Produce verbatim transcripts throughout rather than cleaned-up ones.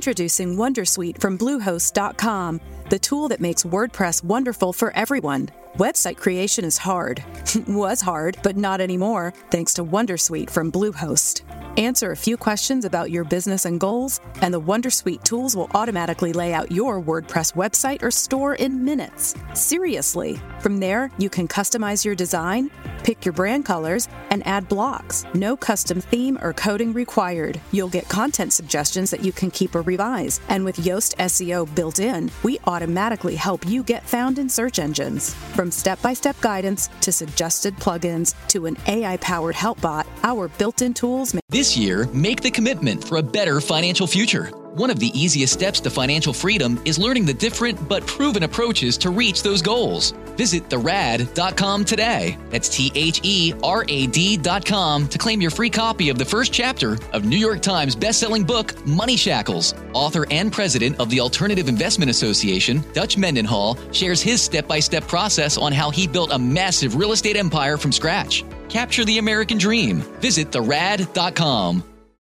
Introducing Wondersuite from Bluehost dot com, the tool that makes WordPress wonderful for everyone. Website creation is hard. Was hard, but not anymore, thanks to Wondersuite from Bluehost. Answer a few questions about your business and goals, and the Wondersuite tools will automatically lay out your WordPress website or store in minutes. Seriously. From there, you can customize your design, pick your brand colors, and add blocks. No custom theme or coding required. You'll get content suggestions that you can keep or revise. And with Yoast S E O built in, we automatically help you get found in search engines. From step-by-step guidance to suggested plugins to an A I-powered help bot, our built-in tools make... This year, make the commitment for a better financial future. One of the easiest steps to financial freedom is learning the different but proven approaches to reach those goals. Visit the rad dot com today. That's T H E R A D dot com to claim your free copy of the first chapter of New York Times bestselling book, Money Shackles. Author and president of the Alternative Investment Association, Dutch Mendenhall, shares his step-by-step process on how he built a massive real estate empire from scratch. Capture the American dream. Visit the rad dot com.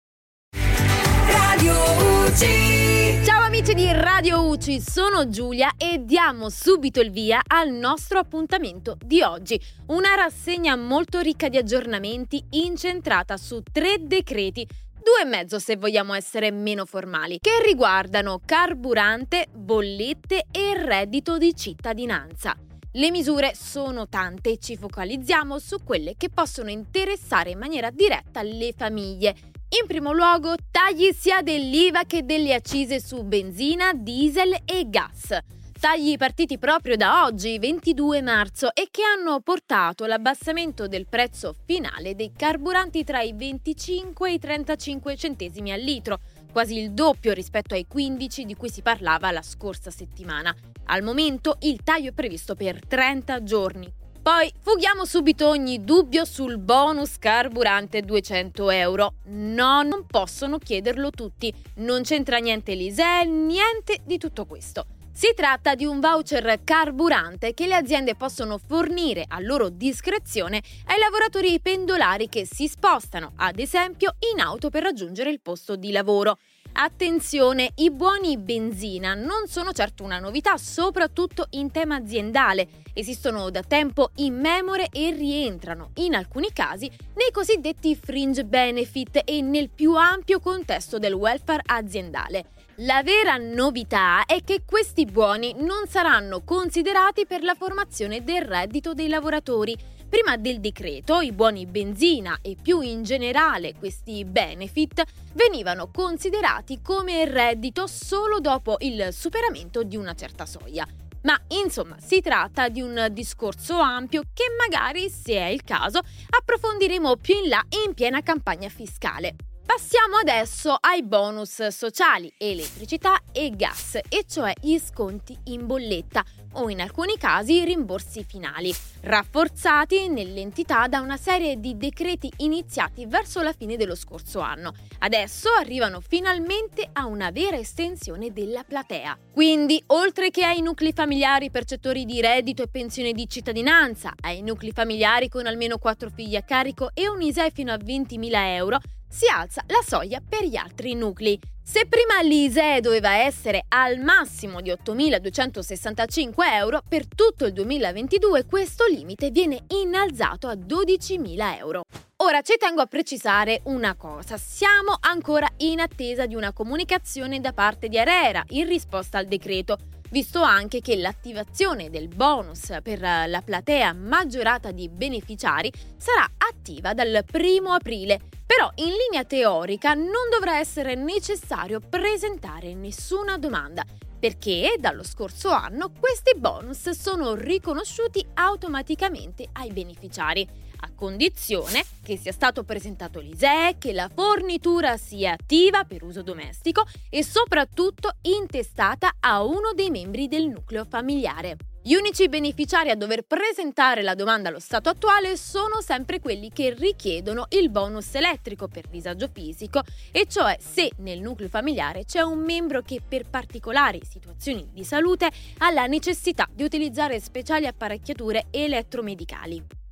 Ciao amici di Radio U C I, sono Giulia e diamo subito il via al nostro appuntamento di oggi. Una rassegna molto ricca di aggiornamenti incentrata su tre decreti, due e mezzo se vogliamo essere meno formali, che riguardano carburante, bollette e reddito di cittadinanza. Le misure sono tante e ci focalizziamo su quelle che possono interessare in maniera diretta le famiglie. In primo luogo, tagli sia dell'I V A che delle accise su benzina, diesel e gas. Tagli partiti proprio da oggi, ventidue marzo, e che hanno portato l'abbassamento del prezzo finale dei carburanti tra i venticinque e i trentacinque centesimi al litro, quasi il doppio rispetto ai quindici di cui si parlava la scorsa settimana. Al momento il taglio è previsto per trenta giorni. Poi fughiamo subito ogni dubbio sul bonus carburante duecento euro. No, non possono chiederlo tutti. Non c'entra niente l'I S E E, niente di tutto questo. Si tratta di un voucher carburante che le aziende possono fornire a loro discrezione ai lavoratori pendolari che si spostano, ad esempio, in auto per raggiungere il posto di lavoro. Attenzione, i buoni benzina non sono certo una novità, soprattutto in tema aziendale. Esistono da tempo immemore e rientrano, in alcuni casi, nei cosiddetti fringe benefit e nel più ampio contesto del welfare aziendale. La vera novità è che questi buoni non saranno considerati per la formazione del reddito dei lavoratori. Prima del decreto, i buoni benzina e più in generale questi benefit venivano considerati come reddito solo dopo il superamento di una certa soglia. Ma insomma, si tratta di un discorso ampio che magari, se è il caso, approfondiremo più in là in piena campagna fiscale. Passiamo adesso ai bonus sociali, elettricità e gas, e cioè gli sconti in bolletta o in alcuni casi i rimborsi finali, rafforzati nell'entità da una serie di decreti iniziati verso la fine dello scorso anno. Adesso arrivano finalmente a una vera estensione della platea. Quindi, oltre che ai nuclei familiari percettori di reddito e pensione di cittadinanza, ai nuclei familiari con almeno quattro figli a carico e un I S E E fino a ventimila euro, si alza la soglia per gli altri nuclei. Se prima l'I S E E doveva essere al massimo di ottomiladuecentosessantacinque euro, per tutto il duemilaventidue questo limite viene innalzato a dodicimila euro. Ora ci tengo a precisare una cosa, siamo ancora in attesa di una comunicazione da parte di ARERA in risposta al decreto, visto anche che l'attivazione del bonus per la platea maggiorata di beneficiari sarà attiva dal primo aprile. Però in linea teorica non dovrà essere necessario presentare nessuna domanda, perché dallo scorso anno questi bonus sono riconosciuti automaticamente ai beneficiari, a condizione che sia stato presentato l'I S E E, che la fornitura sia attiva per uso domestico e soprattutto intestata a uno dei membri del nucleo familiare. Gli unici beneficiari a dover presentare la domanda allo stato attuale sono sempre quelli che richiedono il bonus elettrico per disagio fisico, e cioè se nel nucleo familiare c'è un membro che per particolari situazioni di salute ha la necessità di utilizzare speciali apparecchiature elettromedicali.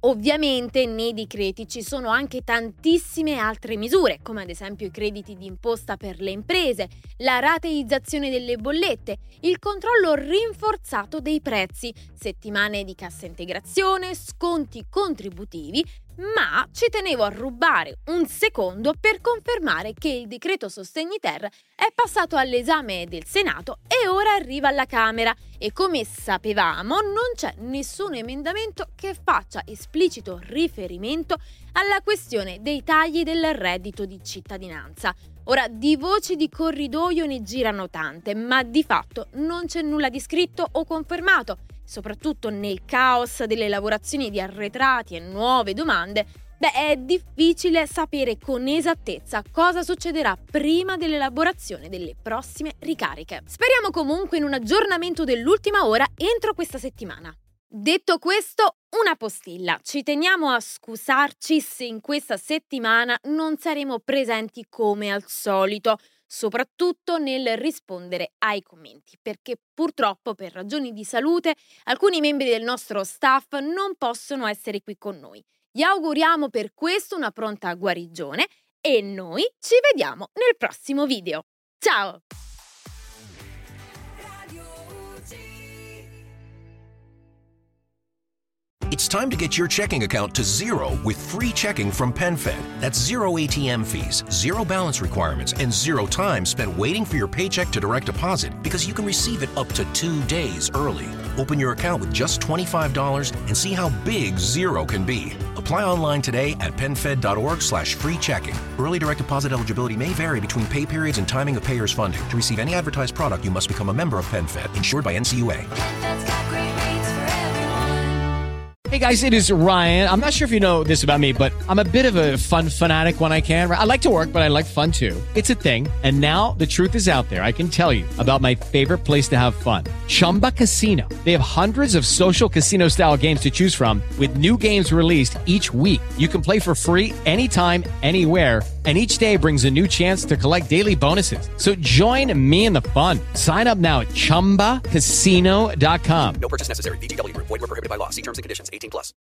Ovviamente nei decreti ci sono anche tantissime altre misure, come ad esempio i crediti di imposta per le imprese, la rateizzazione delle bollette, il controllo rinforzato dei prezzi, settimane di cassa integrazione, sconti contributivi, ma ci tenevo a rubare un secondo per confermare che il decreto Sostegni Ter è passato all'esame del Senato e ora arriva alla Camera e come sapevamo non c'è nessun emendamento che faccia esplicito riferimento alla questione dei tagli del reddito di cittadinanza. Ora, di voci di corridoio ne girano tante, ma di fatto non c'è nulla di scritto o confermato. Soprattutto nel caos delle lavorazioni di arretrati e nuove domande, beh, è difficile sapere con esattezza cosa succederà prima dell'elaborazione delle prossime ricariche. Speriamo comunque in un aggiornamento dell'ultima ora entro questa settimana. Detto questo, una postilla. Ci teniamo a scusarci se in questa settimana non saremo presenti come al solito, soprattutto nel rispondere ai commenti, perché purtroppo per ragioni di salute alcuni membri del nostro staff non possono essere qui con noi. Gli auguriamo per questo una pronta guarigione e noi ci vediamo nel prossimo video. Ciao! It's time to get your checking account to zero with free checking from PenFed. That's zero A T M fees, zero balance requirements, and zero time spent waiting for your paycheck to direct deposit because you can receive it up to two days early. Open your account with just twenty-five dollars and see how big zero can be. Apply online today at PenFed.org slash free checking. Early direct deposit eligibility may vary between pay periods and timing of payer's funding. To receive any advertised product, you must become a member of PenFed, insured by N C U A. Hey guys, it is Ryan. I'm not sure if you know this about me, but I'm a bit of a fun fanatic when I can. I like to work, but I like fun too. It's a thing. And now the truth is out there. I can tell you about my favorite place to have fun. Chumba Casino. They have hundreds of social casino style games to choose from with new games released each week. You can play for free anytime, anywhere. And each day brings a new chance to collect daily bonuses. So join me in the fun. Sign up now at chumba casino dot com. No purchase necessary. V G W Group. Void where prohibited by law. See terms and conditions. eighteen plus.